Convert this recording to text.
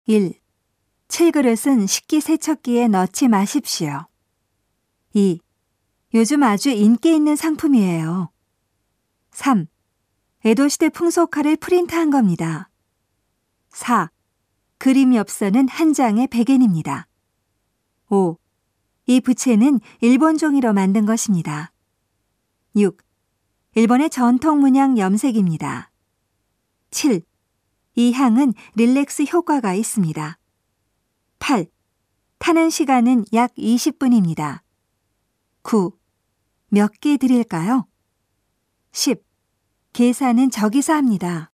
1. 7그릇은 식기세척기에 넣지 마십시오. 2. 요즘 아주 인기 있는 상품이에요. 3. 에도시대 풍속화를 프린트한 겁니다. 4. 그림 엽서는 한 장에 100엔입니다. 5. 이 부채는 일본 종이로 만든 것입니다. 6. 일본의 전통 문양 염색입니다. 7. 이 향은 릴렉스 효과가 있습니다. 8. 타는 시간은 약 20분입니다. 9. 몇 개 드릴까요? 10. 계산은 저기서 합니다.